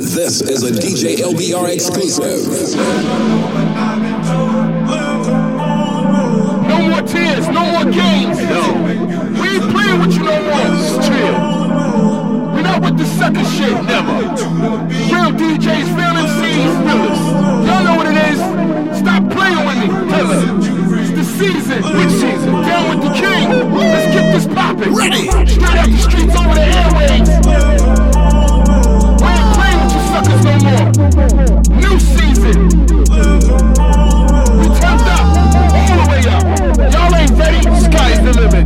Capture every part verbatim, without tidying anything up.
This is a D J L B R exclusive. No more tears, no more games. No. We ain't playing with you no more. Just chill. We not with the sucker shit, never. Real D Js, real M Cs, realers. Y'all know what it is. Stop playing with me. Tell her. It's the season. Which season? Down with the king. Let's get this poppin'. Ready. Straight out the streets over the airwaves. We ain't playing with you suckers no more. New season. We turned up. All the way up. Y'all ain't ready. Sky's the limit.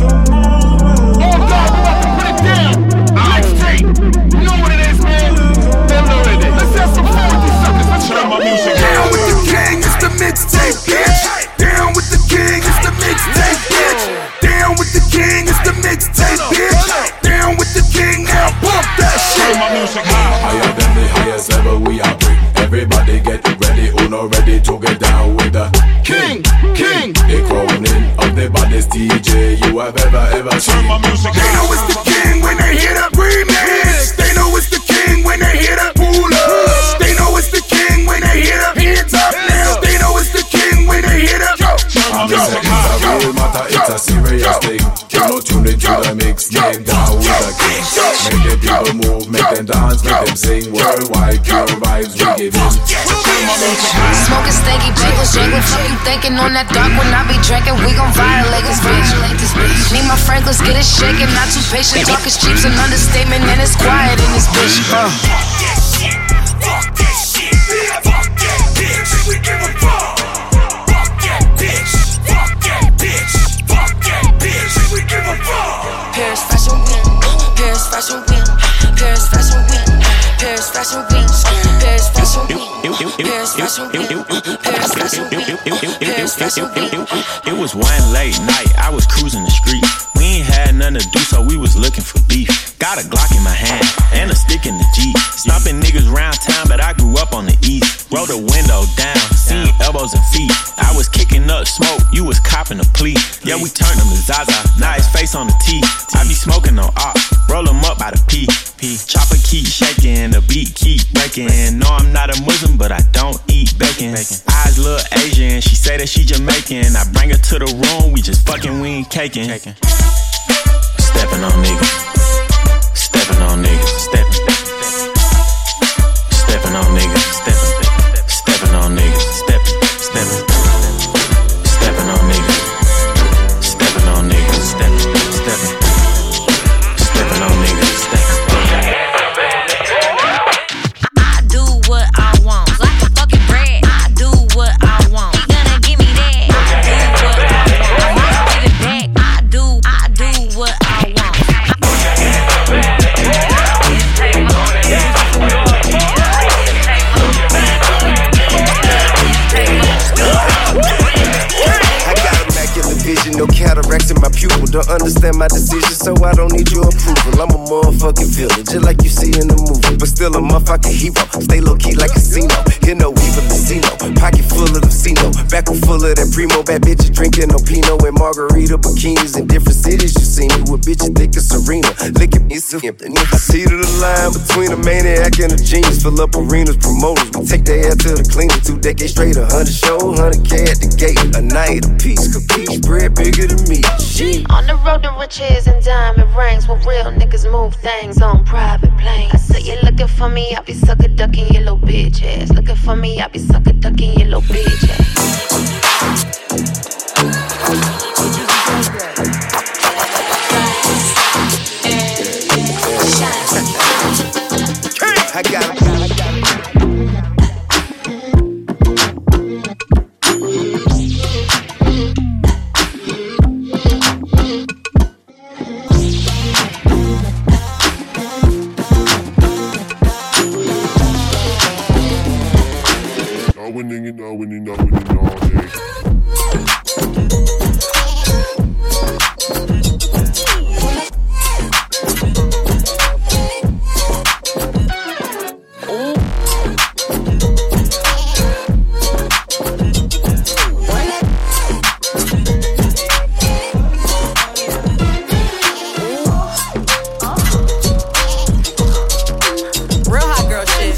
Oh God, we about to put it down. Mixtape. You know what it is, man. They're loaded it. Let's have some fun with these suckers. Let's turn my music. Down with the king, it's the mixtape, bitch. Down with the king, it's the mixtape, bitch. Down with the king, it's the mixtape, bitch. Down with the king, now bump that shit. Turn my music high. Higher than the highest level we are bring. Everybody get ready, Uno ready to get down with the King, king. The crowning of the baddest D J you have ever, ever seen. Turn my music They know it's the king when they hear the remix. They know it's the king when they hear the pull up. They know it's the king when they hear the hands up now. They know it's the king when they hear the go, I'm go, saying it's a real matter, it's a serious thing. You know, tune into the mix, make down with the king. Make the people move, make them dance, make them sing. Worldwide, pure vibes we give in. Smoking stanky bagels, jangle. Fuck you thinking on that dark when I be drinking. We gon' violate this bitch. Need my Franklins, get it shaking. Not too patient. Talk is cheap's an understatement, and it's quiet in this bitch. Uh. Fuck that shit, fuck that bitch. We give a fuck. Fuck that bitch, fuck that bitch, fuck that bitch. We give a fuck. Paris Fashion Week, Paris Fashion Week, Paris Fashion Week, Paris Fashion Week, Paris Fashion Week, Paris Fashion Week, Paris Fashion Week, Paris Fashion Week. It was one late night, I was cruising the street. We ain't had nothing to do, so we was looking for beef. Got a Glock in my hand, and a stick in the Jeep. Stomping niggas round town, but I grew up on the east. Roll the window down, seeing elbows and feet. I was kicking up smoke, you was copping a plea. Yeah, we turned him to Zaza, now his face on the T. I be smoking on op, roll him up by the P. P. Chopper keep shaking, the beat keep breaking. No, I'm not a Muslim, but I don't eat bacon. Eyes look Asian, she say that she Jamaican. I bring her to the room, we just fucking, we ain't caking. Stepping on niggas, stepping on niggas, stepping, stepping on niggas, stepping, stepping on niggas, stepping, stepping, stepping on niggas, stepping on niggas, stepping, stepping, stepping on niggas, stepping. I do what I want, like a fucking bread. I do what I want. You gonna give me that? I do what I want. I might give it back. I do, I do what I want. I got immaculate vision, no cataracts in my pupil. Don't understand my decision, so I don't need your approval. I'm a motherfucking villain, just like you see in the movie, but still a motherfucking hero. Stay low key like casino, you know even casino. Pocket full of the Cino, back full of that primo. Bad bitches drinking no Pinot and margarita bikinis in different cities. You see me with bitches thick as Serena, licking me so I see to the line between a maniac and a genius. Fill up arenas, promoters, we take their ass to the cleaner. Two decades straight, a hundred show, hundred K at the gate. A night a piece, capiche, bread bigger than me. Shit. On the road to riches and diamond rings, where real niggas move things on private planes. I say you looking for me, I be sucker ducking your little bitch ass. Looking for me, I be sucker ducking your little bitch ass. I got it. Now winning it, now winning, now winning, now winning. Real hot girl shit.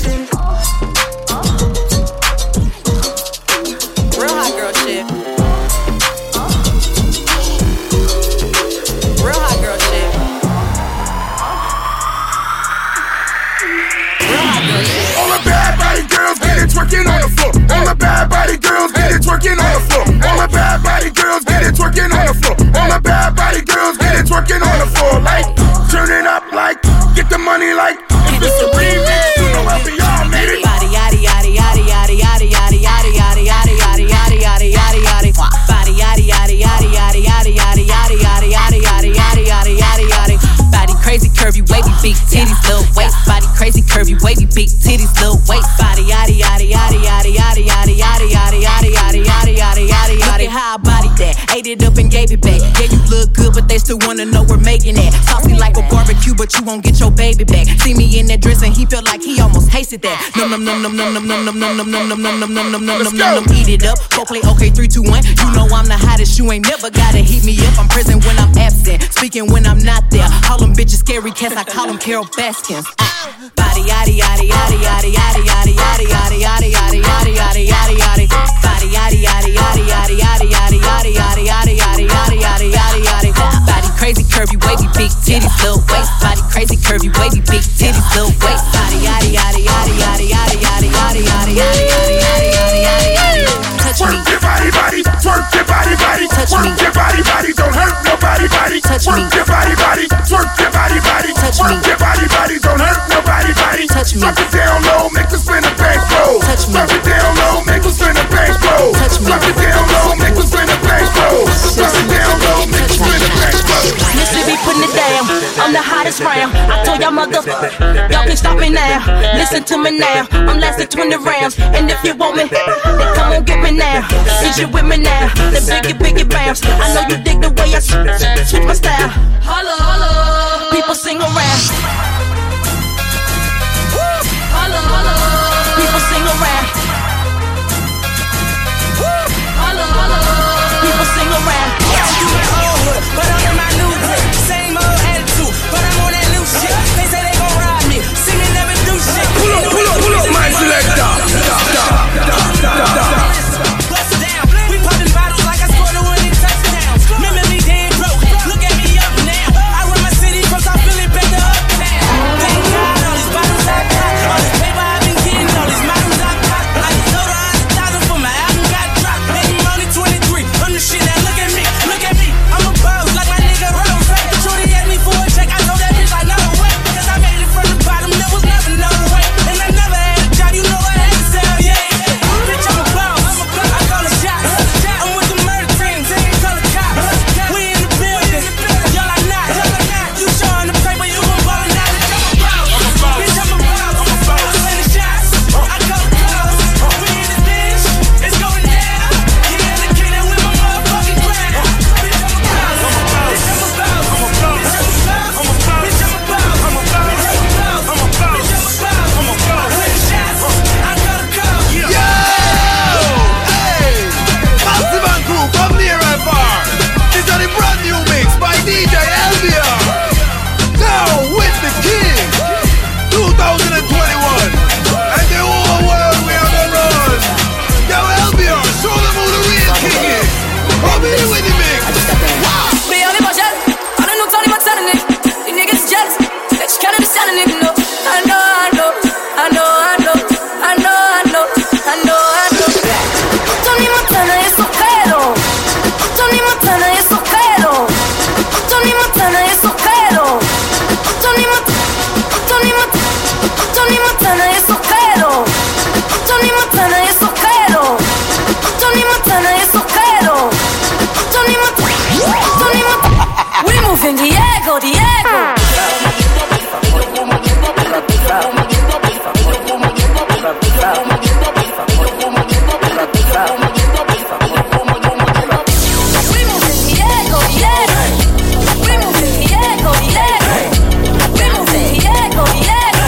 All the bad body girls get it twerking on the floor. All the bad body girls get it twerking on the floor. All the bad body girls get it twerking on the floor. All the bad body girls get it twerking on the floor. Like, turn it up like, get the money like. If it's a remix, you know L B R made it. Body yaddy yaddy yaddy yaddy yaddy yaddy yaddy yaddy yaddy yaddy yaddy yaddy yaddy yaddy. Body yaddy yaddy yaddy yaddy yaddy yaddy yaddy yaddy yaddy yaddy yaddy yaddy yaddy yaddy. Body crazy curvy wavy big titties little waist. Body crazy curvy wavy big titties little waist. Body yaddy yaddy yaddy yaddy yaddy yaddy yaddy yaddy yaddy yaddy yaddy yaddy yaddy yaddy. Look at how I bodied that, ate it up and gave it back. Yeah, you look good, but they still wanna know we're making that. Saucy like a barbecue, but you won't get your baby back. See me in that dress and he felt like he almost tasted that. Num num num num num num num num num num num num num num num num num num. Eat it up, go play okay three two one. You know I'm the hottest, you ain't never gotta heat me up. I'm present when I'm absent, speaking when I'm not there. All them bitches scary cats, I call them Carol Baskins. Body yaddy yaddy yaddy yaddy yaddy yaddy yaddy yaddy yaddy yaddy yaddy yaddy yaddy yaddy. Body yaddy yaddy yaddy yaddy yaddy yaddy yaddy yaddy yaddy yaddy yaddy yaddy yaddy yaddy. Body crazy curvy wavy big titties little waist. Body crazy curvy wavy big titties little waist. Body yaddy yaddy yaddy yaddy yaddy yaddy yaddy yaddy yaddy yaddy yaddy yaddy yaddy. Touch me. Twerk your body, body. Twerk your body, body. Touch me. Twerk your body, body. Don't hurt nobody, body. Touch me. Twerk your body, body. Twerk your body, body. Touch me. Twerk your body, body. Don't hurt nobody, body. Touch me. Drop it down low, make us spin a bank roll. Touch me. Drop it down low, make us spin a bank roll. Touch me. Drop it down low, make us spin a bank roll. Drop it down low, make us spin a bank roll. Listen, be putting it down. I'm the hottest round. I told y'all mother, y'all can stop me now. Listen to me now. I'm lasting twenty rounds, and if you want me, then come on get me now. Since you with me now, then biggie biggie bounce. I know you dig the way I switch my style. Holla holla, people sing around. Holla holla, people sing around. Holla holla, people sing around. You my old hood, but I'm in my new hood. Same old attitude, but I'm on that new shit. They say they gon' ride me, see me never do shit. Pull up, pull up, pull up, my selector. Bust it down, we poppin' bottles like I scored a winning touchdown. Remember me dead broke, look at me up now. I run my city from South Philly back to uptown. Thank God all these bottles I got, all this paper I've been getting, all these models I got. I just sold a hundred thousand for my album got dropped. And I'm only twenty-three, I'm the shit now. Look at me, look at me, I'm a boss like my nigga Rose. Shorty asked me for a check, I told that bitch I know way, cause I made it from the bottom, there was never no way. And I never had a job, you know I had to sell, yeah. Bitch, I'm a boss, I call it shots. I'm with the murder team, call it cops. We in the building, y'all are not. You showing the paper, you gon' ball it out. Bitch, I'm a boss, I'm sending shots. I call it calls, we in this bitch, it's going down. King of the kingdom with my motherfucking crown. Bitch, I'm a boss, bitch, I'm a boss, bitch, I'm a boss, bitch, I'm a boss, bitch, I'm a boss, bitch, I'm a boss, I'm a boss, sending shots. I call it calls. Yo! Hey! Massive and crew from near and far. This is a brand new mix by D J L B R. Now with the king, twenty twenty-one. And the whole world we are gonna run. Yo, L B R, show them who the real king is. Come here with the mix. Me on the budget, I don't know Tony Montana. The niggas jealous, that you can't understand a nigga. No, I know, I know, I know, I know, I know, I know, I know, I know. Tony Montana es ojero. Tony Montana es ojero. Tony Montana es ojero. Tony Montana, Tony Montana, Tony Montana es ojero. Tony Montana es ojero. Tony Montana es ojero. Tony Montana, Tony Montana. We moving Diego, Diego. We moving Diego, Diego. We moving Diego, Diego. We moving Diego, Diego.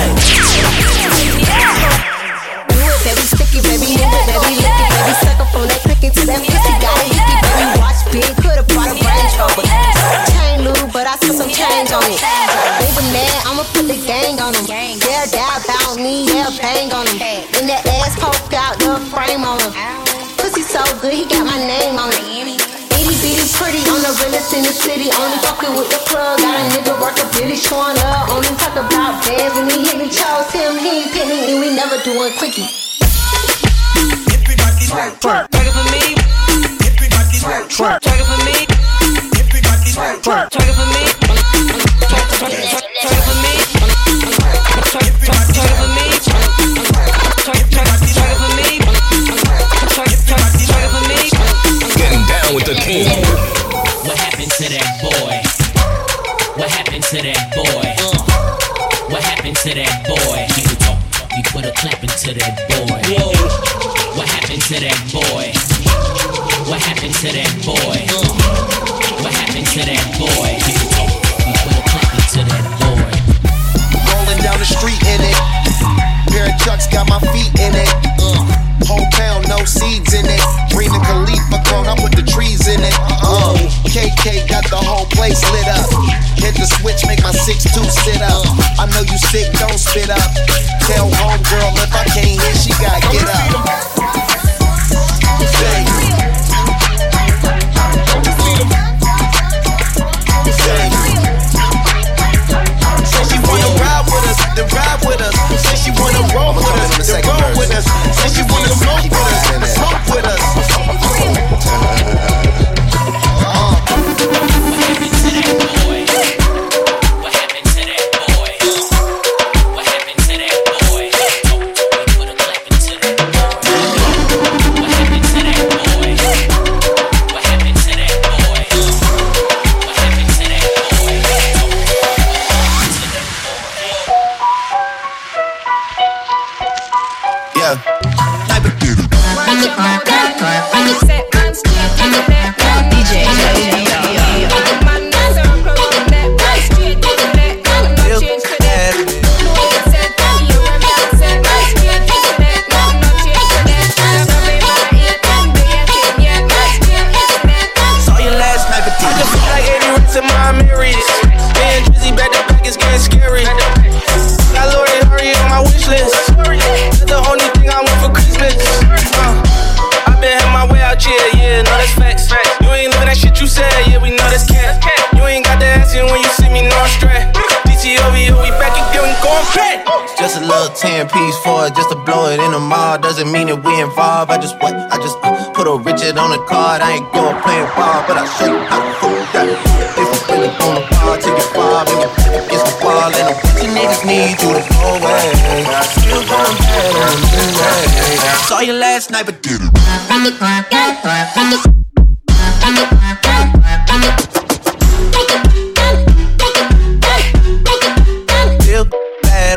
Baby, sticky, baby, move it, baby, lick it, baby, suck up on that cookie to that pussy, got it hickey, baby, watch big, could've brought a Range Rover. Chain loose, but I spent some change on it. Baby man, I'ma put the gang on him. They'll die about me, they'll bang on him. And that ass poke out the frame on him. Pussy so good, he got my name on it. Itty city pretty, on the realest in the city. Only fucking with the plug, got a nigga work a bitty showing up. Only talk about bands when he hit me, chose him, he ain't pick me, and we never doing quickie. Everybody twerk, twerk, twerk it for me. Everybody twerk, twerk, twerk it for me. Everybody twerk, twerk, twerk it for me. Twerk, twerk, twerk, twerk it for me. Twerk, twerk, twerk it for me. Twerk, twerk, twerk it for me. Twerk, twerk, twerk it for me. Getting down with the king. What happened to that boy? What happened to that boy? Uh, what happened to that boy? You could talk, you put a clap into that boy. Whoa. What happened to that boy? What happened to that boy? Uh, what happened to that boy? You could talk, you put a clap into that boy. Rolling down the street in it. Pair of chucks got my feet in it. Uh, whole pound, no seeds in it. Rena Khalifa grown up with the trees in it. Uh, K K got the whole place lit up. Hit the switch, make my six two sit up. I know you sick, don't spit up. Tell homegirl if I can't hear, she gotta get up. Say. Say she wanna ride with us, then ride with us. Say she wanna roll with us, then roll with us. Say she wanna smoke with us, then smoke with us. ten piece for it just to blow it in the mall. Doesn't mean that we involved. I just what? I just uh, put a Richard on the card. I ain't going playing ball, but I'll show you how to fool that. If you really on the ball, take it far, make it against the wall. And the bitch niggas need you to go away. Still going bad on the midnight. Saw you last night, but did it. Still bad.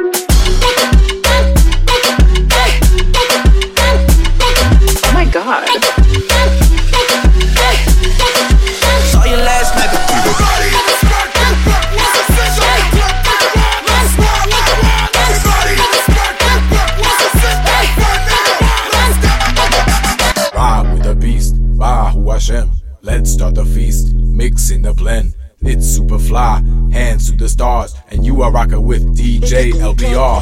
God. Saw you last night. Ride with the beast, Bahu Hashem. Let's start the feast, mixing the blend. It's super fly, hands to the stars, and you are rocking with D J L B R.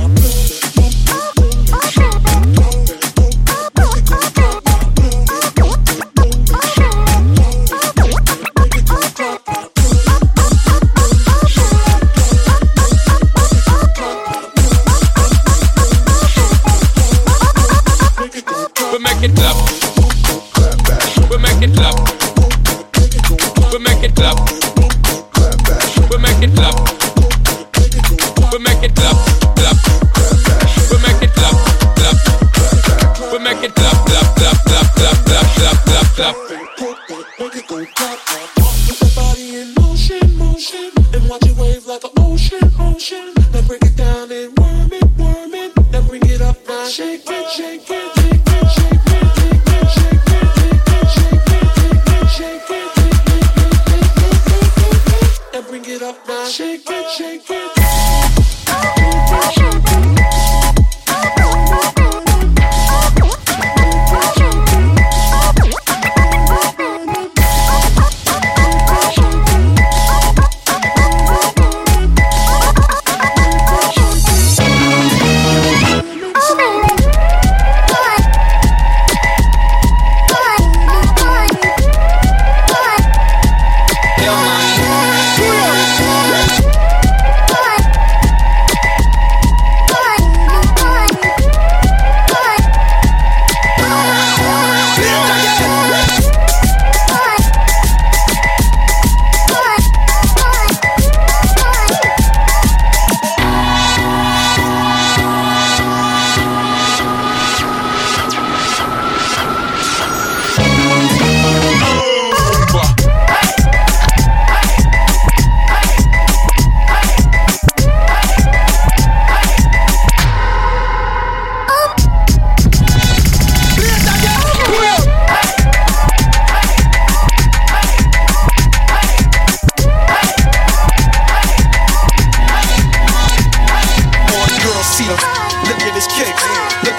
We make it clap. We make it clap. We make it clap. We make it clap. We make it clap. Clap. We make it clap. Clap. We make it clap. Clap. Clap. Clap. Clap. Clap. Clap. Clap. Clap. Make it go clap. Put the body in motion, motion, and watch it wave like an ocean, ocean. Now break it down and worm it, worm it. Now bring it up now, shake it, shake it. Bring it up now, shake it, shake it.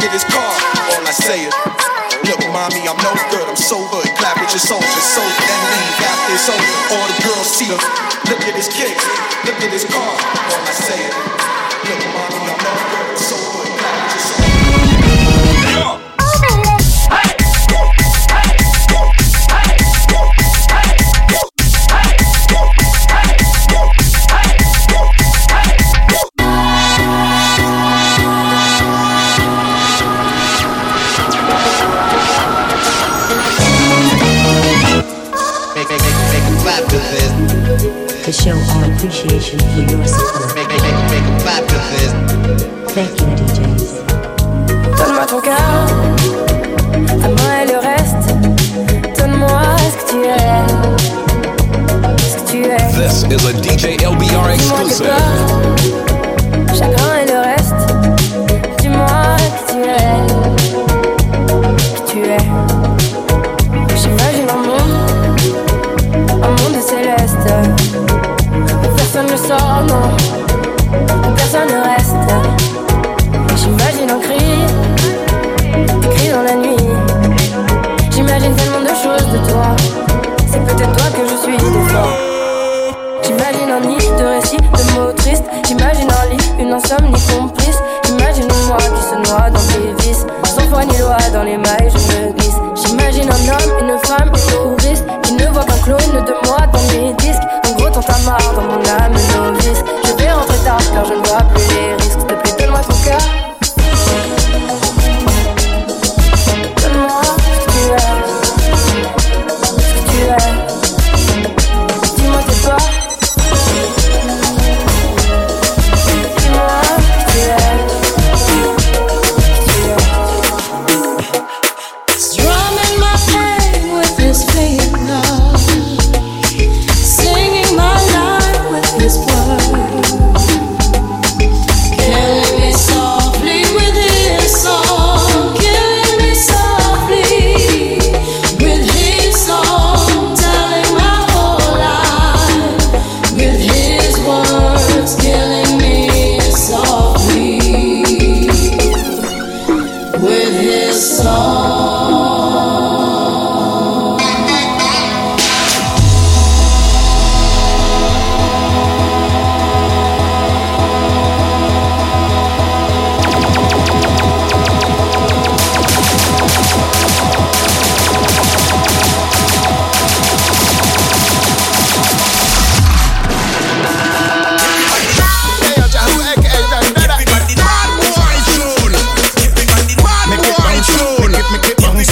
at his car, all I say is, look, mommy, I'm no good, I'm so good. Clap with your soldiers, so then leave after it's over. All the girls see him. Look at his kicks, look at his car, all I say is, look, mommy, I'm no good, I'm so good. Clap with your soldiers. To show our appreciation for your support. Make, make, make, make a clap to this. Thank you, D Js. Donne-moi ton cœur, donne-moi le reste. Donne-moi ce que tu es, ce que tu es. This is a D J L B R exclusive. Chagrin et le reste. Dis-moi qui tu es, qui tu es. J'imagine un monde, un monde céleste. Personne ne sort, non, personne ne reste. J'imagine un cri, des cris dans la nuit. J'imagine tellement de choses de toi. C'est peut-être toi que je suis des fois. J'imagine un nid de récits, de mots tristes. J'imagine un lit, une insomnie complice. J'imagine moi qui se noie dans tes vices. Sans foi ni loi dans les mailles, je me glisse. J'imagine un homme, une femme, une touriste qui ne voit qu'un clone de moi dans mes disques. En gros, t'en t'as marre dans mon âme novice. Je vais rentrer tard car je ne vois plus les risques. S'il te plaît, donne-moi ton cœur. Donne-moi ce que tu es, ce que tu es. Dis-moi c'est toi. Dis-moi ce que tu es, ce que tu es. Strumming my pain with his finger, singing my life with his word, killing me softly with his song, killing me softly with his song, telling my whole life with his words, killing me softly with his song. Make it bounce, make it, make it bounce.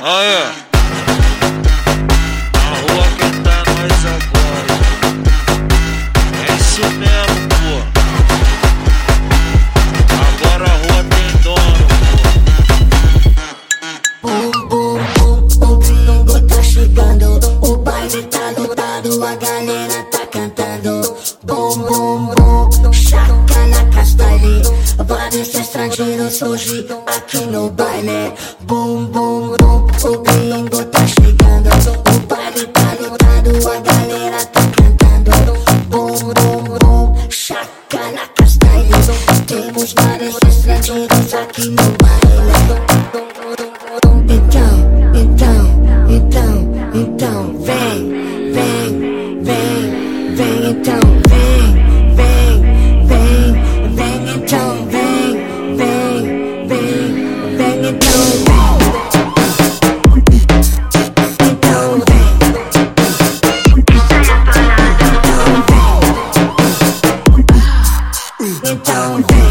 Ah, é? A rua que tá nós agora. É isso mesmo, pô. Agora a rua tem dono, pô. Bum, bum, bum, o gringo tá chegando. O baile tá lotado, a galera tá cantando. Bum, bum, bum, chaca na castanha. Vários estrangeiros hoje aqui no baile. Bum, bum, bum, o gringo tá chegando. O baile tá lotado, a galera tá cantando. Bum, bum, bum, chaca na castanha. Temos vários estrangeiros aqui no baile. Então, então, então, então, vem, vem, vem, vem, então, vem, vem, vem, vem, então, vem, vem, vem, vem, então, vem. Então, vem. Então, vem.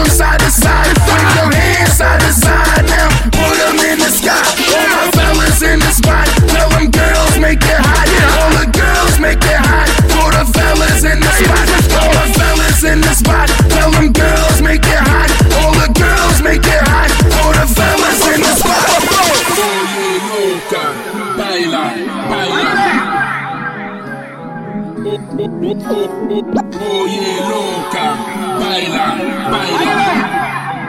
Side to side now, put 'em in the sky. All my fellas in Oye loca, baila, baila.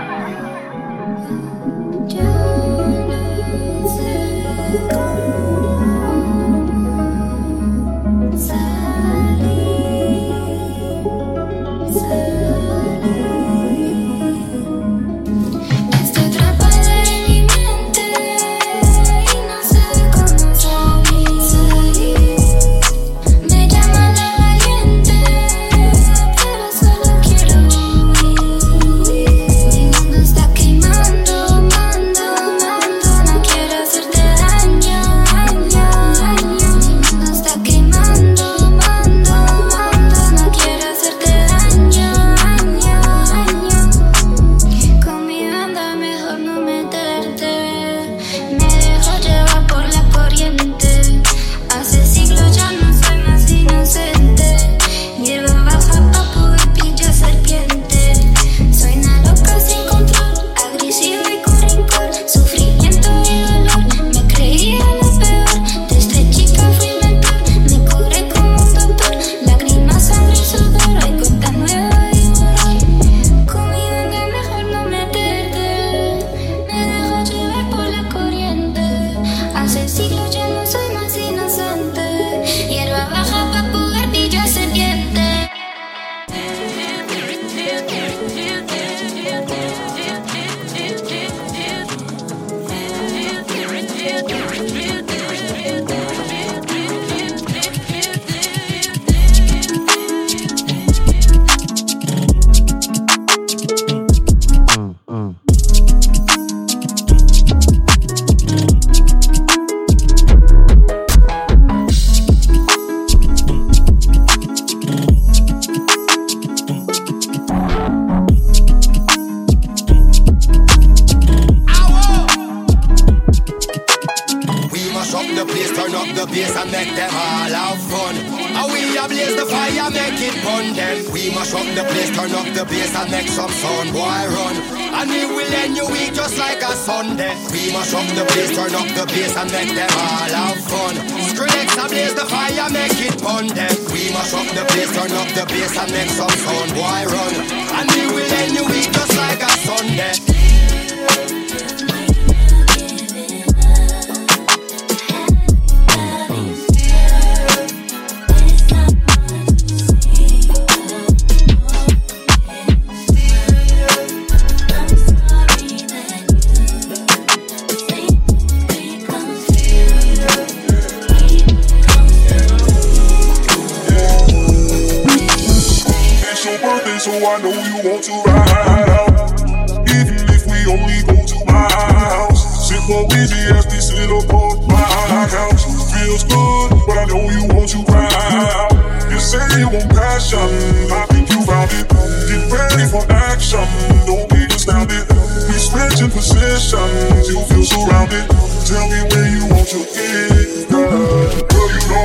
So I know you want to ride out. Even if we only go to my house. Sit for easy as we sit upon my couch. Feels good, but I know you want to ride out. You say you want passion, I think you found it. Get ready for action, don't be astounded. We switching positions, you feel surrounded. Tell me where you want to get, girl. Girl, you know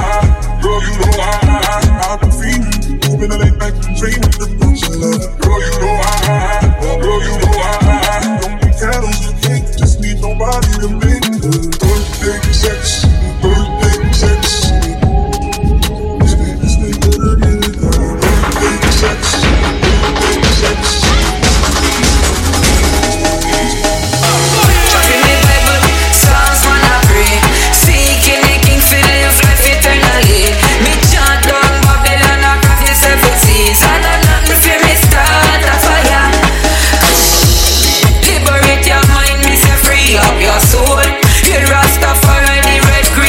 I, girl, you know I, I've been feeling. Been a late night dream with the boots of love. Girl, you know I, girl, you know I don't need candles and cake, just need nobody to make the birthday sex, birthday sex. This nigga, this nigga, get it done. Birthday sex, birthday sex. Trust in the Bible, Psalms one and three. Seeking the King for live life eternally. Me chant down Babylon across the seven seas. I know nothing for me start a fire. Liberate your mind, me say free up your soul. You Rastafari, the red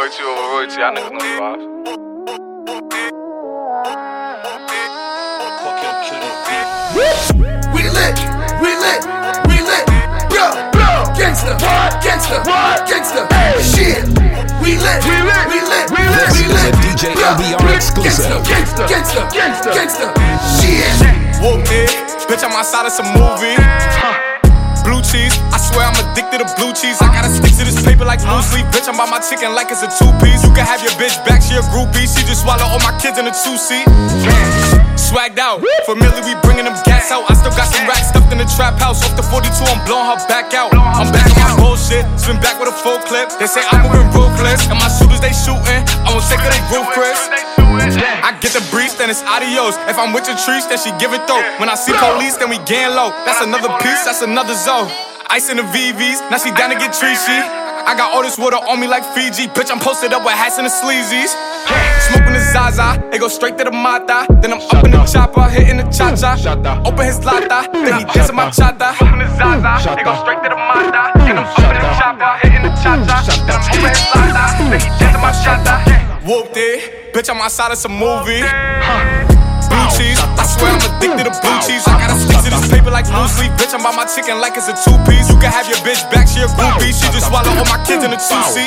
Royalty over royalty, y'all niggas know the vibes. We lit, we lit, we lit. Yo, gangsta, gangsta, gangsta. Shit. We lit, we lit, we lit, we lit, we lit. D J L B R exclusive. Gangsta, gangsta, gangsta, gangsta. Shit. Whooped it, bitch, I'm outside of some movie. Blue cheese, I swear I'm addicted to blue cheese. I gotta stick to this paper like blue sleep. Bitch, I'm by my chicken like it's a two-piece. You can have your bitch back, she a groupie. She just swallow all my kids in a two-seat. Swagged out, familiar, we bringing them gas out. I still got some racks stuffed in the trap house. Off the forty-two, I'm blowing her back out. I'm back on my bullshit, spin back with a full clip. They say I'm moving ruthless, and my shooters they shooting. I'm gonna take her they roof, Chris. I get the breeze, then it's adios. If I'm with your trees, then she give it though. When I see police, then we gang low. That's another piece, that's another zone. Ice in the V Vs, now she down to get treachy. I got all this water on me like Fiji. Bitch, I'm posted up with hats and the sleazies. Smoking the Zaza, it go straight to the Mata. Then I'm up in the chopper, hitting the cha-cha. Open his lata, then he dancing my chata. Smoking the Zaza, it go straight to the Mata. Then I'm up in the chopper, hitting the cha-cha. Then I'm open his lata, then he dancing my chata. Whooped it, bitch, I'm outside of some movie. Blue cheese, I swear I'm addicted to blue cheese. I gotta stick to this paper like blue sleep. Bitch, I'm by my chicken like it's a two-piece. You can have your bitch back, she a groupie. She just swallow all my kids in a two-seat.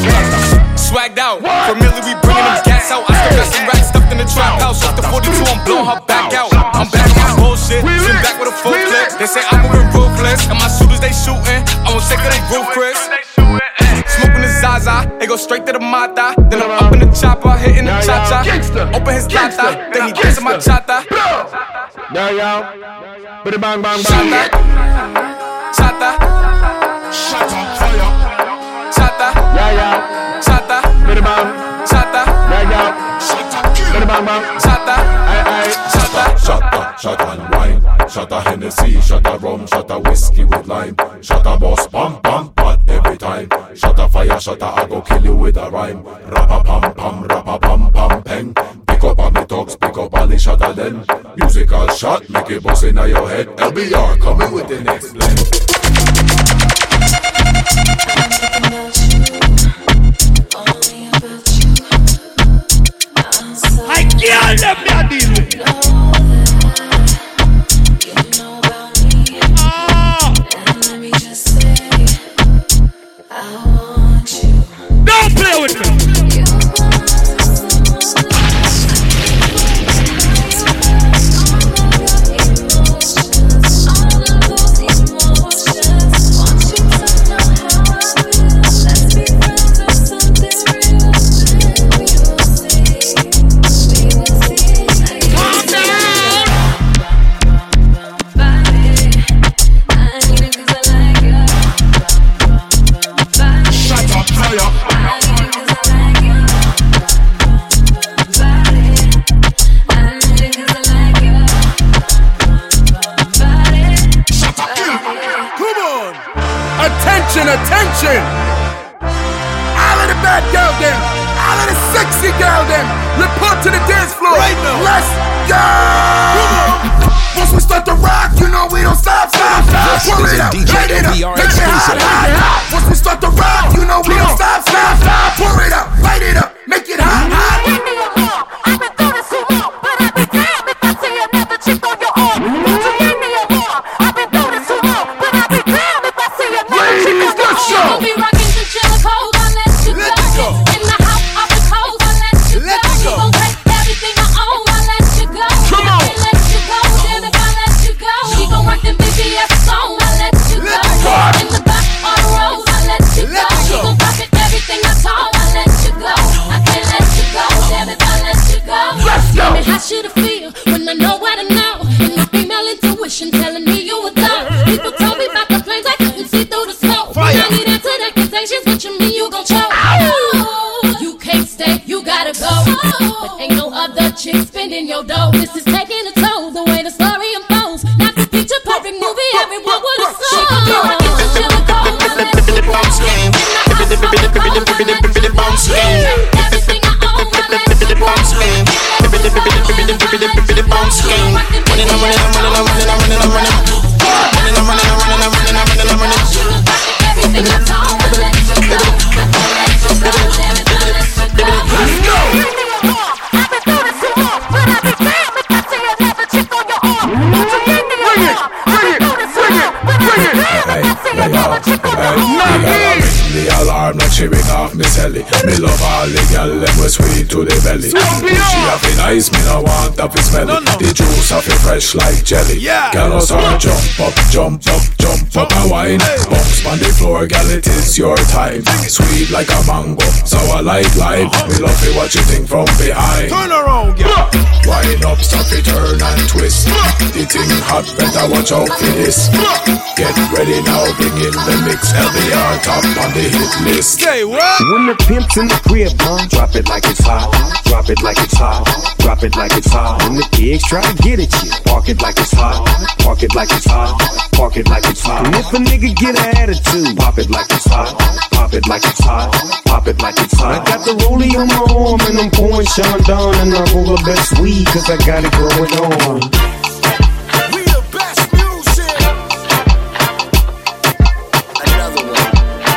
Swagged out, familiar, we bringing them gas out. I still got some racks stuffed in the trap house. Off the forty-two, I'm blowing her back out. I'm back on my bullshit, spin back with a full clip. They say I'm moving ruthless, and my shooters they shooting. I won't take her they roof, Chris. Smoking the Zaza, it go straight to the Mata. Then I'm up in the chopper, hitting the cha-cha. Open his lata, then he dancing my chata. Yeah, yeah. Bang, bang, bang, bang. Chata. Shut up, fire. Chata. Yeah, yeah. Chata. Bang, bang. Chata. Yeah, yeah. Shut up, bang, bang, bang. Chata. Aye, aye. Shata, shata, shata and wine. Shata Hennessy, shata rum, shata whiskey with lime. Shata boss, bam, bam, but every time. Shata fire, shata, I go kill you with a rhyme. Rappa pam pam, rappa pam pam peng. Pick up on me talks, pick up on the shata then. Musical shot, make it bust in your head. L B R coming with the next blend. I can't let me deal with it. Don't play with me. Attention, attention! All of the bad girl them, all of the sexy girl them, report to the dance floor right now. Let's go! Once we start to rock, you know we don't stop, stop, stop. Pull it up, light it up, make it hot, hot, hot. Once we start to rock, you know we don't stop, stop, stop. Pull it up, light it up, make it hot, hot. I've been through this too long, but I've been damned if I see another chick on your arm. Won't you give me a warm? I've been through this too long, but I've been damned if I see another chick on your arm. We'll be rocking to Jericho, I'll let you go. In the house, off the coast, I'll let you go. You gon' take everything I own, I'll let you go. Come on. I'll let you go, then if I let you go. She gon' rock them B B S songs, I'll let you go. In the back, on the road, I'll let you go. She gon' rock it, everything I told, I'll let you go. I can't let you go, damn if I let you go. Let's go. Tell me how should I feel when I know what I know? And my female intuition telling me you were love. People told me about the flames, I couldn't see through the smoke. Fire. I need answer accusations, what you mean you gon' choke? Oh, you can't stay, you gotta go. Oh. But ain't no other chick spending your dough. This is taking a toll, the way the story unfolds. Not the picture perfect movie, everyone would have sold. She gon' be rockin' to Jericho, I'll let you go. In the house, on the coast, I'll let you go. Everything I own, I'll let you go. Running, I'm running, I'm running, I'm running, I'm running, I'm running. Running, I'm running, I'm running, I'm running, I'm running, I'm running. Everything I told, I'll let you go. I'll let you go, damn it, I'll let you go. belly. Me love all the gal, them we sweet to the belly. She have it nice, me no want have it smelly. The juice have it fresh like jelly. Gal us all jump up, jump up, jump up and wine. Bounce on the floor, gal, it is your time. Sweet like a mango, sour like lime. We love it, what you think from behind. Turn around, yeah. Wind up, stop it, turn and twist. The thing hot, better watch out for this. Get ready now, bring in the mix. L B R top on the hit list. Say what? When the pimp's in the crib, huh? Drop it like it's hot. Drop it like it's hot. Drop it like it's hot. When the pigs try to get at you, park it like it's hot. Park it like it's hot. Park it like it's hot. And if a nigga get an attitude, pop it like it's hot. Pop it like it's hot. Pop it like it's hot. I got the rollie on my arm and I'm pouring Sean Don and I'm over best weed cause I got it going on. We the best music. Another one.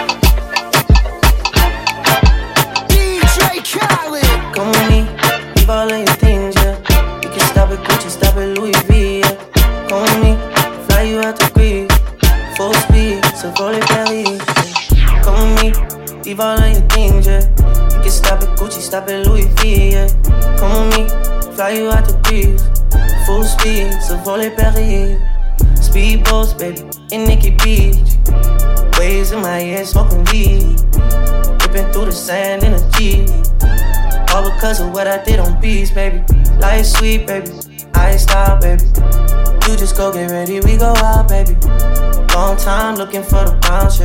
D J Khaled. Come with me, leave all of your things, yeah. You can stop at Gucci, stop at Louis V, yeah. Come with me, fly you out to Greece. Full speed, so roll it Paris. Come with me, leave all of your things, yeah. You can stop at Gucci, stop at Louis V, yeah. Come with me, fly you out to Greece. Full speed, so roll it Paris. Speedboats, baby, in Nikki Beach. Waves in my ear, smoking weed. Ripping through the sand in a Jeep. All because of what I did on beats, baby. Life sweet, baby. I ain't stop, baby. You just go get ready, we go out, baby. Long time looking for the bounce,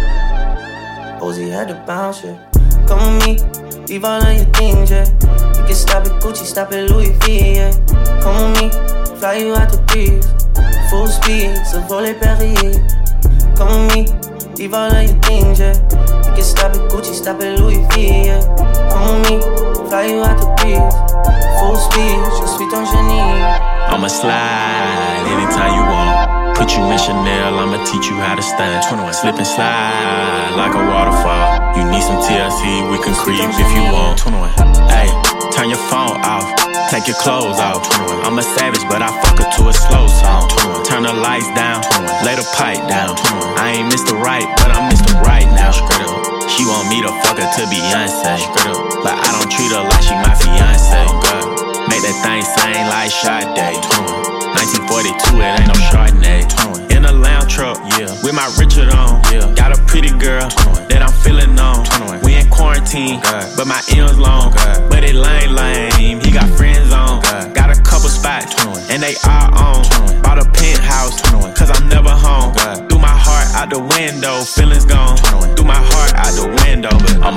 yeah. Ozzy had to bounce, yeah. Come with me, leave all of your things, yeah. You can stop at Gucci, stop at Louis V, yeah. Come with me, fly you out to Greece. Full speed, so roll it Paris. Come with me, leave all of your things, yeah. You can stop at Gucci, stop at Louis V, yeah. Come with me, fly you out to Greece. Full speed, je suis ton génie. I'ma slide anytime you want. Put you in Chanel, I'ma teach you how to stand. Slip and slide like a waterfall. You need some T L C, we can creep if you want. Hey, turn your phone off, take your clothes off. I'm a savage, but I fuck her to a slow song. Turn the lights down, lay the pipe down. I ain't Mister Right, but I'm Mister Right now. She want me to fuck her to Beyonce, but I don't treat her like she my fiance. Make that thing sing like Sade. nineteen forty-two, it ain't no Chardonnay. In a lounge truck, yeah, with my Richard on. Yeah. Got a pretty girl that I'm feeling on. We in quarantine, but my M's long. But it lame, lame. He got friends on. Got a couple spots, and they all on. Bought a penthouse, cause I'm never home. Threw my heart out the window, feelings gone. Threw my heart out the window, but I'ma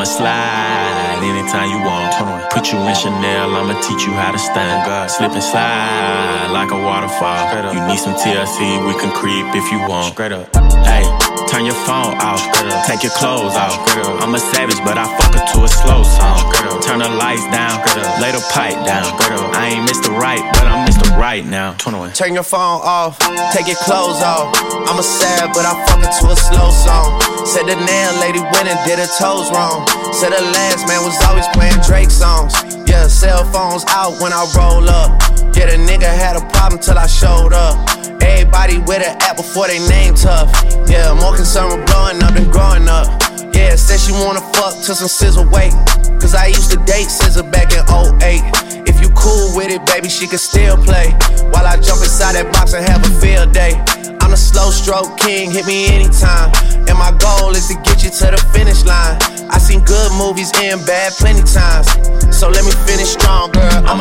slide anytime you want. Put you in Chanel, I'ma teach you how to stand. Slip and slide like a waterfall. You need some T L C, we can creep if you want. Hey, turn your phone off, take your clothes off. I'm a savage, but I fuck her to a slow song. Turn the lights down, lay the pipe down. I ain't Mister Right, but I'm Mister Right now. Turn your phone off, take your clothes off. I'm a sad, but I fuck her to a slow song. Said the nail lady went and did her toes wrong. Said the last man was always playing Drake songs. Yeah, cell phones out when I roll up. Yeah, the nigga had a problem till I showed up. Everybody with an app before they name tough. Yeah, more concerned with blowing up than growing up. Yeah, said she wanna fuck till some scissor wait. Cause I used to date Scissor back in oh eight. If you cool with it, baby, she can still play. While I jump inside that box and have a field day. I'm the slow stroke king, hit me anytime. And my goal is to get you to the finish line. I seen good movies and bad plenty times. So let me finish strong, girl. I'ma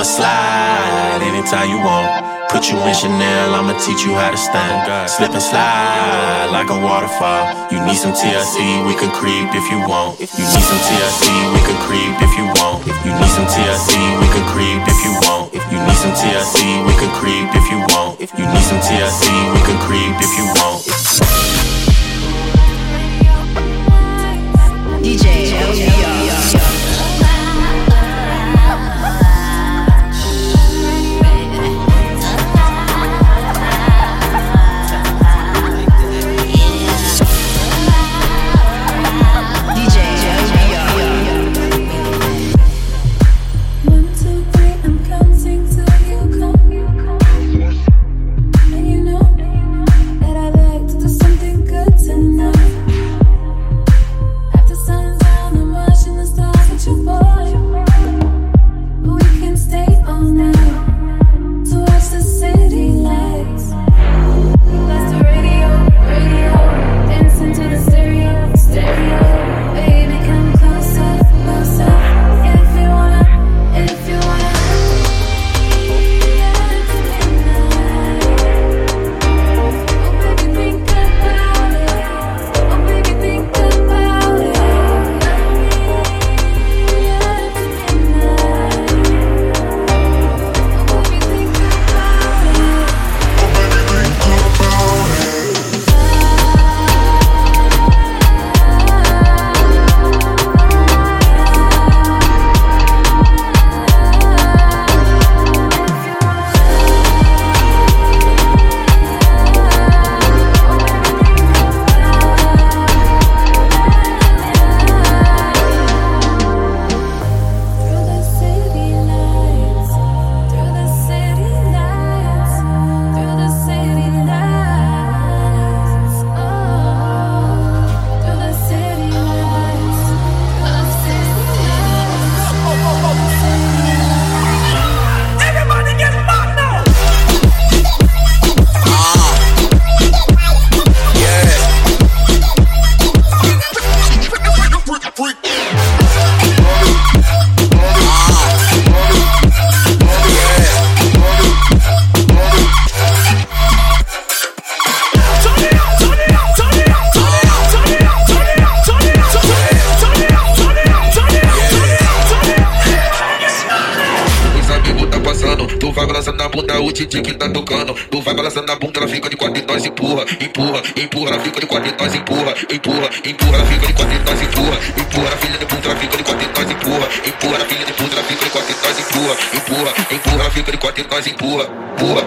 slide anytime you want. Put you in Chanel, I'ma teach you how to stand. Slip and slide like a waterfall. You need some T L C, we can creep if you want. You need some T L C, we can creep if you want. You need some T L C, we can creep if you want. You need some T L C, we can creep if you want. You need some T L C, we can creep if you want. D J L B R. After sun's down, I'm washing D J que tá tocando. Tu vai balançando a bunda, ela fica de quatro e nós empurra, empurra, empurra, ela fica de quatro e nós empurra, empurra, empurra, ela fica de quatro e nós empurra, empurra, a filha de puta, ela fica de quatro e nós empurra, empurra, a filha de puta, ela fica de quatro e nós empurra, empurra, empurra, ela fica de quatro e nós empurra, empurra.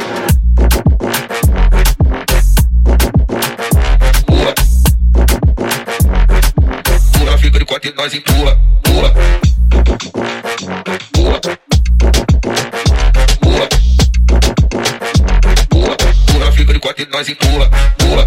Fica de quatro e nós empurra, empurra, empurra, empurra, empurra, empurra, fica de quatro e nós empurra, empurra.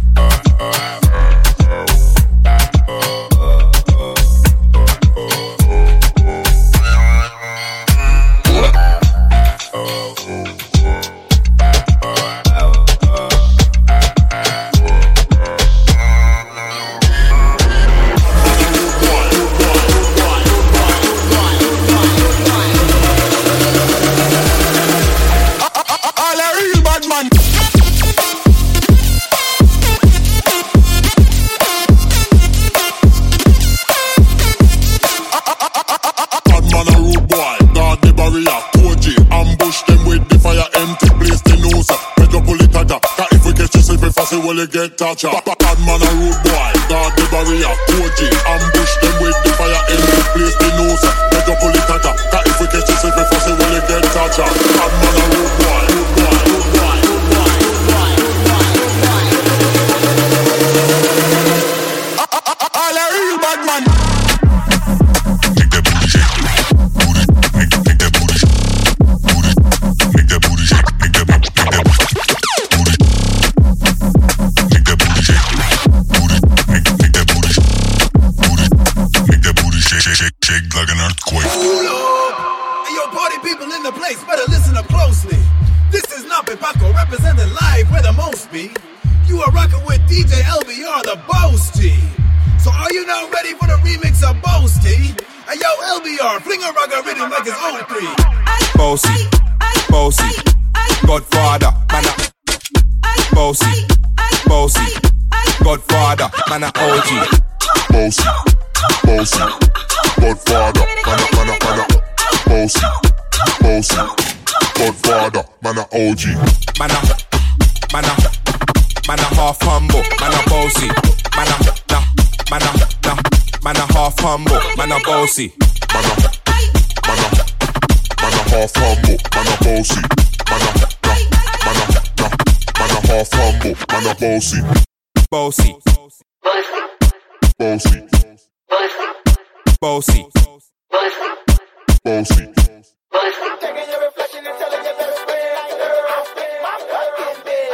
Well, you get touch up. Bad man a rude boy, guard the barrier. O G, ambush them with the fire in the place they know, sir. Let go pull it at up. Cause if we catch you safe, if I say, well, you get touch up. Bad man a rude boy, rude boy, rude boy, rude boy, rude boy, rude boy. All a real bad man. Make that booty shake, booty, make, make that booty shake, booty, make that booty shake, make that, make that booty. Shake, shake, shake like an earthquake. Hold up! Hey, yo, party people in the place, better listen up closely. This is Nape Paco, representing live where the most be. You are rocking with D J L B R, the Boasty. So are you now ready for the remix of Boasty? Hey, yo, L B R, fling a rock a rhythm like it's oh three. Boasty, Boasty, Godfather, man a Boasty, Boasty, Godfather, man a O G. Boasty, Boasty, Godfather, man a, man a, man a Boasty, Boasty, Godfather, man a O G. Man a, man a, man a half humble, man a bossy. Man a, nah, man a, nah, man a half humble, man a bossy. Man a, man a, man a half humble, man a bossy. Man a, nah, man a, nah, man a half humble, man a bossy. Bossy, bossy, bossy, bossy, bossy. Taking your reflection and telling you better spin like my fucking bed.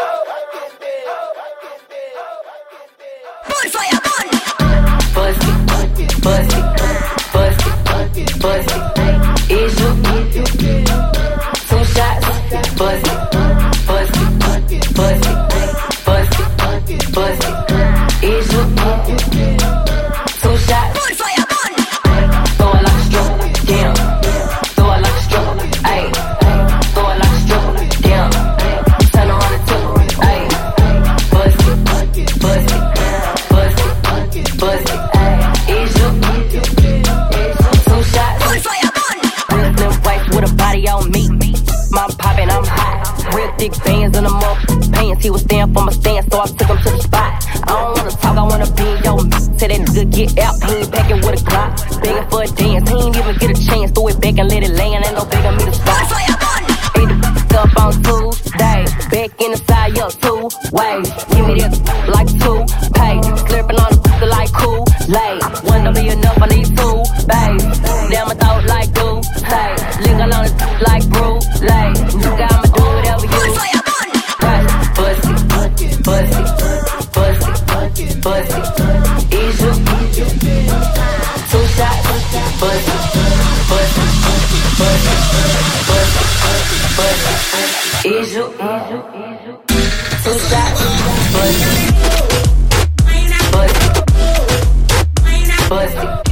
Bonfire bun. Pussy, pussy, pussy, pussy. Is you two shots? Pussy, pussy, pussy, pussy, pussy. Is you two shots? Bonfire bun. Throw it like a stroke, damn. Throw it like a stroke, ayy. Throw it like a stroke, damn. Turn on the tip, ayy. Pussy, pussy, pussy, pussy, ayy. Is you two shots? Bonfire bun. Real slim wife with a body on me. Mom poppin', I'm hot. Real thick bands in the mouth. Pants, he was stand for my stand, so I took him to the spot. I don't wanna talk, I wanna be in your mouth. Say that nigga get out, he ain't packing with a Glock. Begging for a dance, he ain't even get a chance. Throw it back and let it land, ain't no begging me to stop. Ate the f*** up on Tuesday, back in the side, up two ways. Give me that like two pay, slurping on the f*** like Kool-Aid. One don't be enough, I need two, babe. Damn, I thought like do, say. Linger on the like Brulee. You got me do whatever you right. Pussy, pussy, pussy, pussy. Is you two shots? Pussy, pussy, pussy, pussy, pussy. Is you two shots? Pussy, pussy, pussy, pussy.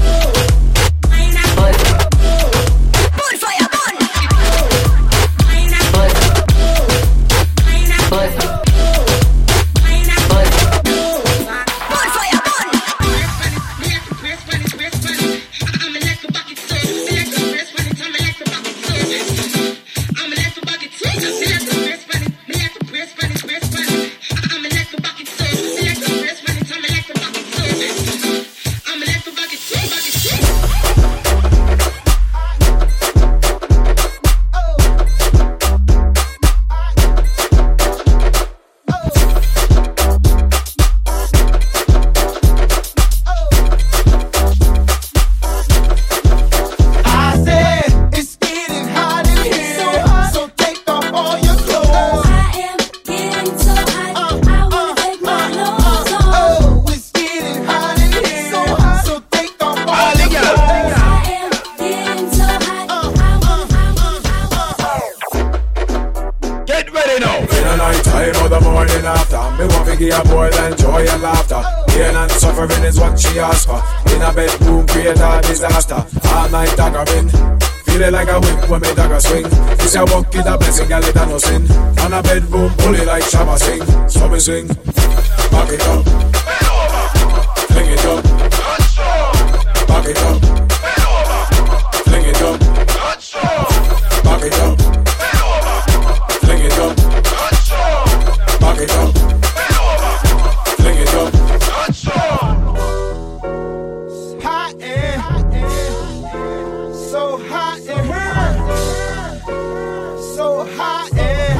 Bonfire bun. Pussy, pussy. I'm me give a boy and joy and laughter. Pain and suffering is what she asks for. In a bedroom, create a disaster. All night daggering. Feel it like a whip when me dagger swing. This a buck is a blessing, girl, it a no sin. On a bedroom, pull it like Shabba sing. So me swing, back it up, fling it up, back it up, fling it up, back it up, fling it up, back it up, fling it up. Hot air, so hot in here, so hot air.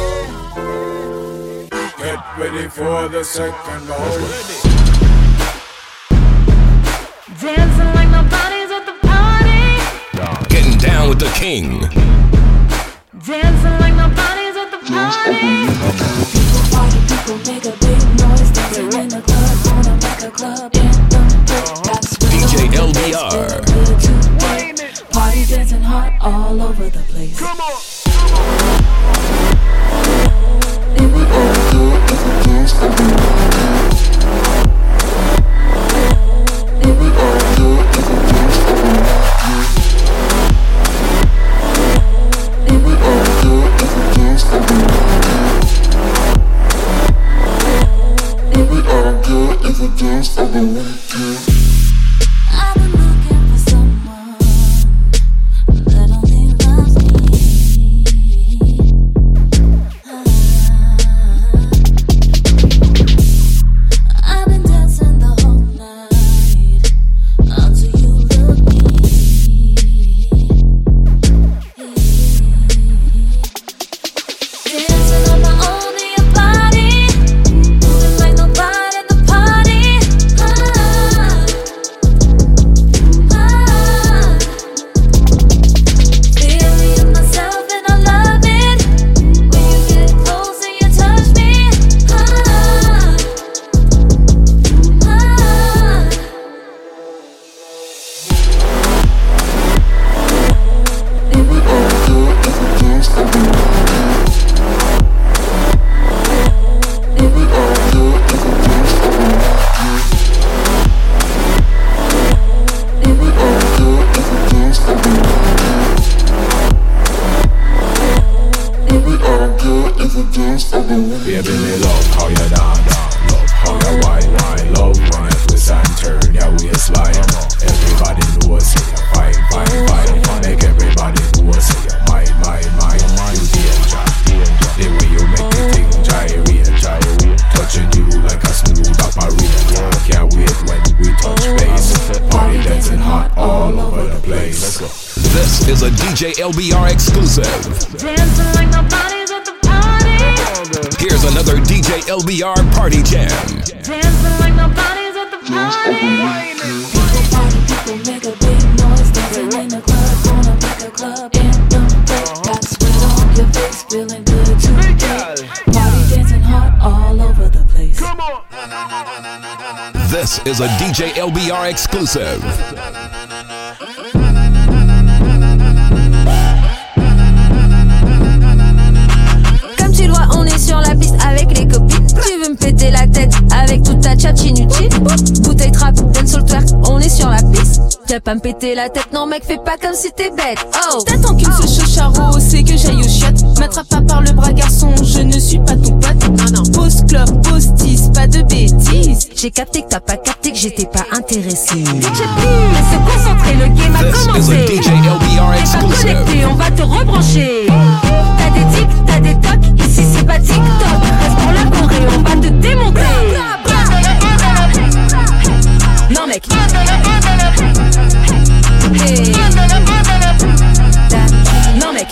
Get ready for the second round. Dancing like nobody's at the party. Getting down with the king. Dancing like nobody's at the party. People party, people make a big noise. Dancing in the club, wanna make a club anthem. That's D J L B R. Party dancing hot all over the place. Come on. If we all do it, if we dance, then we If we all do it, if we dance, then we If we all do it, if we dance, then we If we all do it, if we dance, then we I've been looking for someone that only loves me. I've been dancing the whole night until you look me. Dancing on my own in your body, moving like nobody in the party. Ah, ah. Feeling myself and I love it. When you get close and you touch me. Ah, ah. If we all do it, if we dance, then we If we all do it, if we dance, then we If we all do it, if we dance, then we If we all do it, if we dance, then we Baby, me love how you dance, love how you whine, whine, love when you twist and turn your waistline. Everybody knows say you fine, fine, fine. Make everybody know say you mine, mine, mine. You danger, danger. The way you make the thing gyrate, gyrate. Touching you like a smooth operator. Can't wait when we touch base. Party dancing hot all over the place. This is a D J L B R exclusive. Dancing like nobody's at the party. Here's another D J L B R party jam. Dancing like nobody's at the party. People party, people make a big noise. Dancing in the club, wanna make a club anthem. Got sweat on your face, feeling good today. Party dancing hot all over the place. Come on. This is a D J L B R exclusive. Comme tu le vois, on est sur la piste avec les copines. Tu veux me péter la tête avec toute ta tchatch inutile. Bouteille trap, dancehall twerk, on est sur la piste. Viens pas me péter la tête, non mec, fais pas comme si t'es bête. Oh, t'attends qu'une seule chose charo, c'est que j'aille au chiottes. M'attrape pas par le bras garçon, je ne suis pas ton pote. Non non, pause club, pause tease, pas de bêtises. j'ai capté que t'as pas capté que j'étais pas intéressé. D J Pim, se concentrer, le game a commencé. T'es pas connecté, on va te rebrancher. T'as des tics, t'as des tocs, ici c'est pas TikTok. Reste pour la Corée, on va te démonter. Non mec. Hey. Non mec.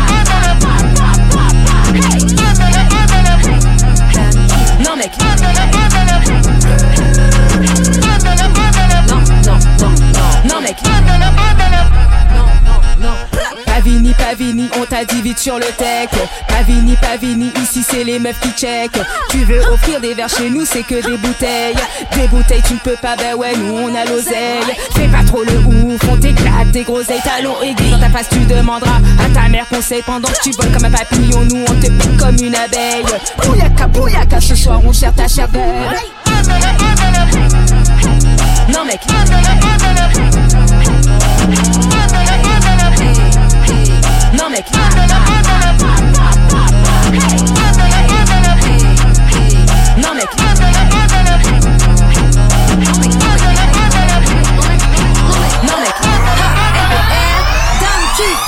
Hey. Non mec. Non, non, non, non, non mec. Non, non, non. Pavini, Pavini, fini, on t'a dit vite sur le tech. Pavini, Pavini, ici c'est les meufs qui check. Tu veux offrir des verres chez nous, c'est que des bouteilles. Des bouteilles tu ne peux pas, bah ouais nous on a l'oseille. Fais pas trop le ouf, on t'éclate des groseilles. Talons aiguilles dans ta face tu demanderas à ta mère conseil. Pendant que tu voles comme un papillon, nous on te pique comme une abeille. Bouyaka, bouyaka, ce soir on cherche ta chair belle. Non mec. Non mec. Non mec. Non mec. Dame qui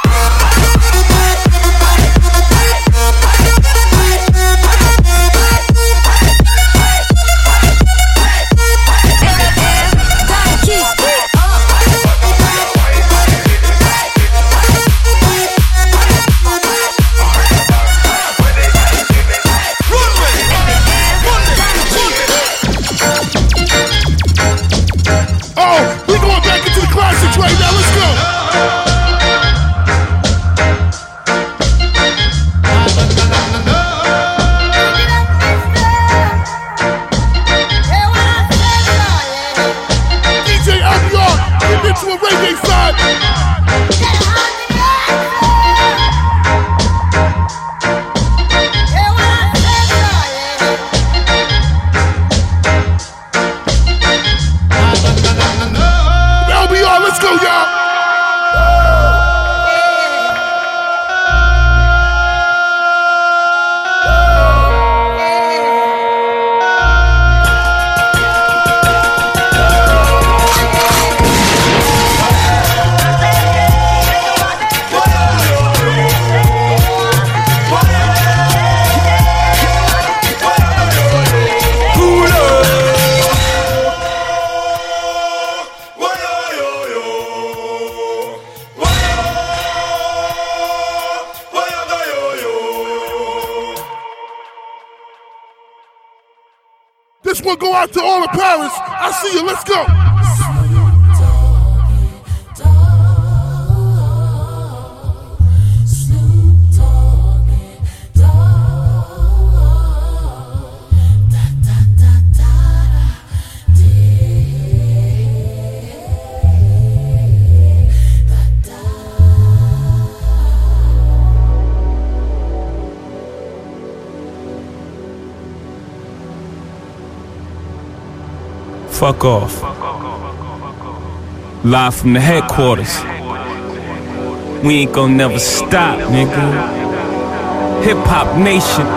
go out to all the Paris. I see you. Let's go. Fuck off. Live from the headquarters. We ain't gon' never stop, nigga. Hip Hop Nation.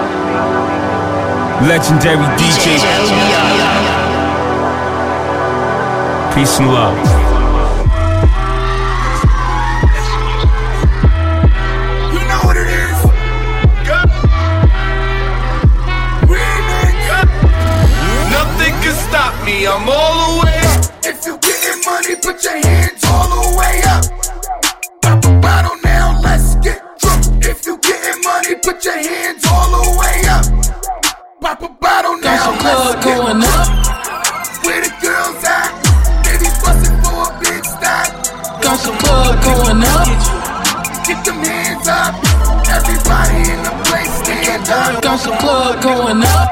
Legendary D J. Peace and love. Stop me, I'm all the way up. If you getting money, put your hands all the way up. Pop a bottle now, let's get drunk. If you getting money, put your hands all the way up. Pop a bottle now, let's get going up. Where the girls at? They be bustin' for a big stack. Got some blood going up. Get them hands up. Everybody in the place stand up. Got some blood going up.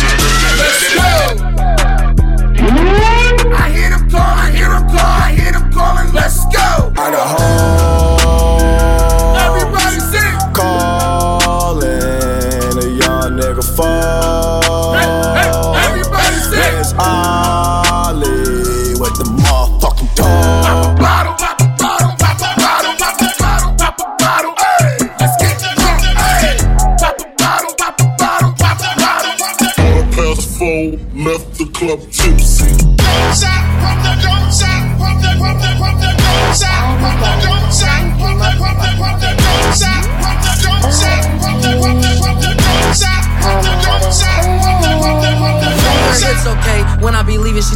I hear them call, I hear them call, I hear them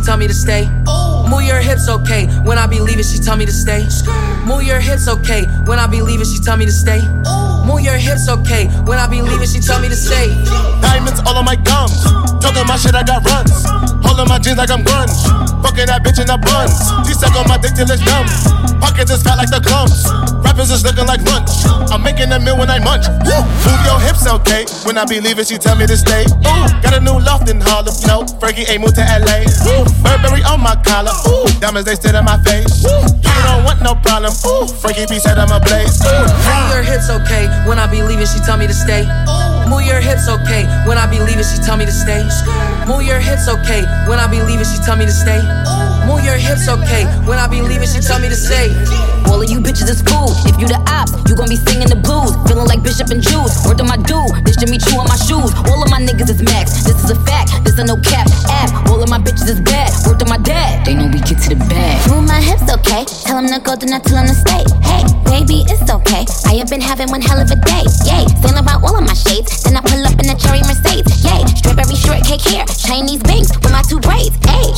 tell me to stay. Move your hips, okay. When I be leaving, she tell me to stay. Move your hips, okay. When I be leaving, she tell me to stay. Move your hips, okay. When I be leaving, she tell me to stay. Diamonds all on my gums. Talking my shit, I got runs. Holding my jeans like I'm grunge. Fucking that bitch in the buns. She suck on my dick till it's dumb. Pockets is fat like the clumps. Rappers is looking like lunch. I'm making a meal when I munch. Woo. Move your hips, okay. When I be leaving, she tell me to stay. Ooh. Got a new loft in Harlem. No, Fergie ain't moved to L A. Ooh. Burberry on my collar. Ooh. Diamonds, they sit in my face. Ooh. You don't want no problem. Ooh. Frankie B said I'm a blaze. Move your hips, okay. When I be leaving, she tell me to stay. Move your hips, okay. When I be leaving, she tell me to stay. Move your hips, okay. When I be leaving, she tell me to stay. Move your hips, okay. When I be leaving, she tell me to stay. All of you bitches is fool. If you the ops, you gon' be singing the blues. Feeling like Bishop and Juice. Word to my dude, this Jimmy Choo on my shoes. All of my niggas is max. This is a fact. This a no cap app. All of my bitches is bad. Word to my dad. They know we get to the bag. Move my hips, okay. Tell him to go, do not tell him to stay. Hey, baby, it's okay. I have been having one hell of a day. Yay, saying about all of my shades. Then I pull up in a cherry Mercedes. Yay, strawberry shortcake hair. Chinese bangs with my two braids. Hey.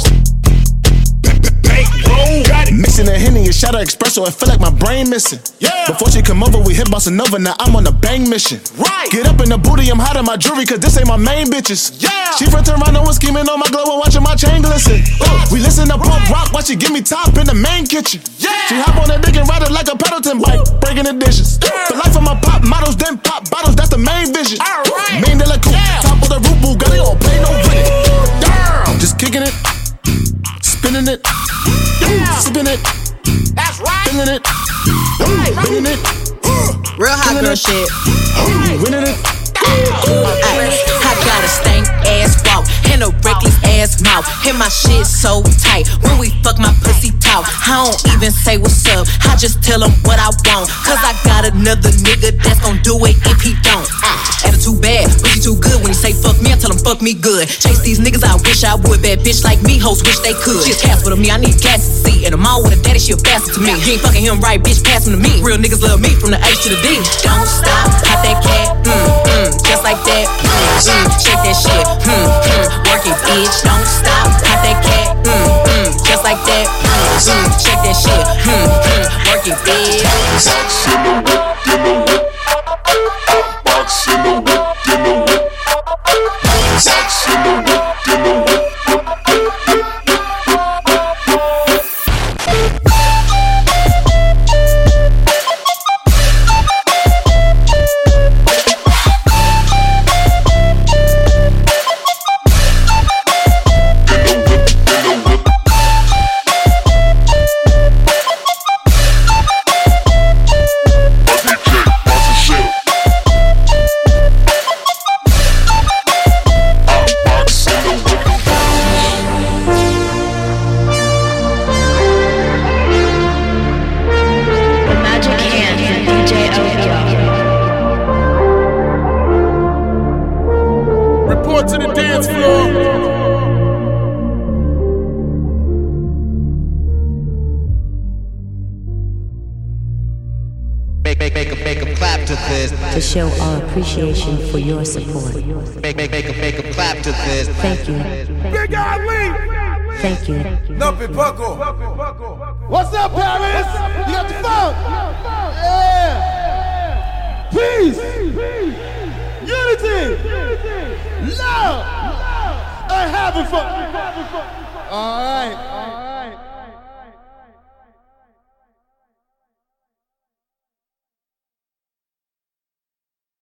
Mixing a Henny and shot of espresso, I feel like my brain missing. Yeah. Before she come over, we hit Bossa Nova, now I'm on a bang mission. Right. Get up in the booty, I'm hot in my jewelry, cause this ain't my main bitches. Yeah. She from Toronto and scheming on my glow and watching my chain glisten. Uh, we listen to punk rock while she give me top in the main kitchen. Yeah. She hop on that dick and ride it like a Pendleton bike, breaking the dishes. Yeah. The life of my pop models, then pop bottles, that's the main vision. All right. Main de la coupe, yeah. Top of the roof, Bugatti, don't play no with it. Damn. Just kicking it, spinning it. Yeah. Sipping it, that's right. Feeling it, right. Feeling it, real hot girl it. Shit. Winning it. I got a stank ass walk and a reckless ass mouth, and my shit so tight. When we fuck, my pussy talk. I don't even say what's up. I just tell him what I want. Cause I got another nigga that's gon' do it if he don't. Attitude bad, but he too good. When he say fuck me, I tell him fuck me good. Chase these niggas, I wish I would. Bad bitch like me, hoes wish they could. She a Casper to me, I need gas to see. And I'm all with a daddy, she a bastard to me. He ain't fucking him right, bitch, pass him to me. Real niggas love me from the H to the D. Don't stop, hot that cat, mm, mm, just like that, mm, mm, shake that shit, mm, mm, work it, bitch. Don't stop, hot that cat, mm, mm, just like that, mm, mm, shake that shit, mm, mm, work it, bitch. Box in the whip, in the whip. Box in the whip, in the whip. To show our appreciation for your support. Make, make, make, make a clap to this. Thank you. Big Ali! Thank you. Nuppy Buckle. What's up, Paris? You got the phone? Yeah! Peace! Unity! Love! And having fun! Alright.